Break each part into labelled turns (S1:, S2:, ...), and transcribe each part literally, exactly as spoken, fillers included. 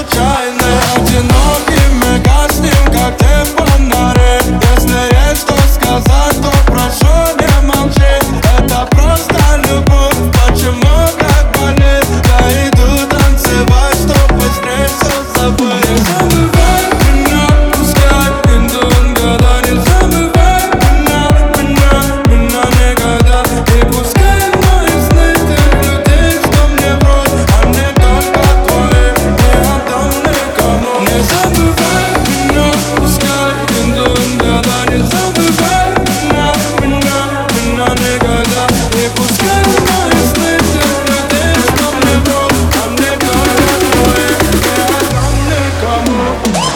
S1: случайны. Одинокими гаснем, как те фонари. Если есть что сказать, то прошу не молчи. Это просто любовь, почему так болит? Я иду танцевать, чтоб быстрее все забыть. Не забывай меня, пускай идут года. Не забывай меня, меня, меня никогда. И пускай мои сны тех людей, что мне врут, они только твои, не отдам никому. Не забывай меня, пускай идут года. Не забывай меня, меня, меня никогда. И пускай мои сны тех людей, что мне врут, они только твои, не отдам никому.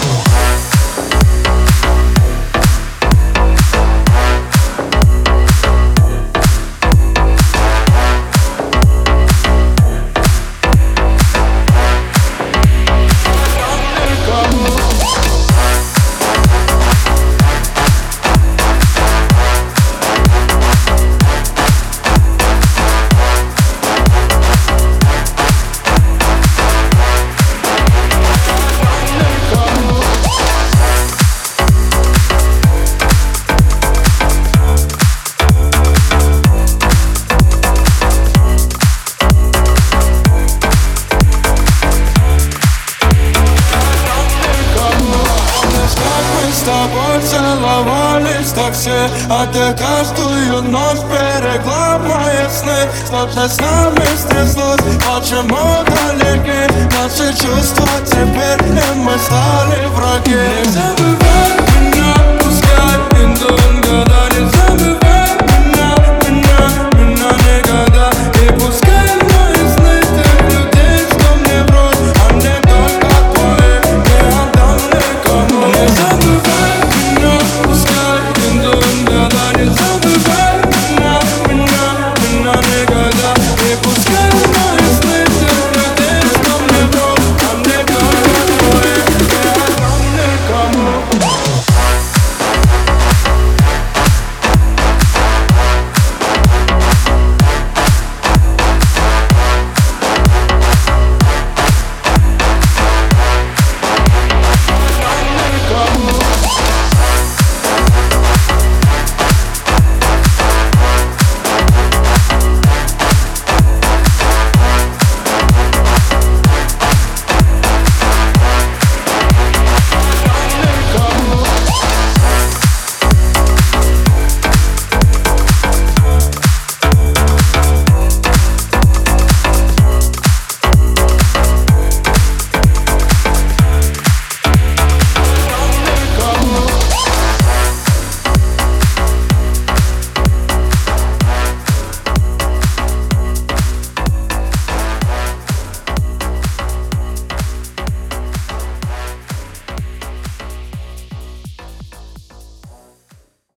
S1: С тобой целовались в такси, а ты каждую ночь берегла мои сны. Что-то с нами стряслось, почему далеки наши чувства теперь, и мы стали враги. Не забывай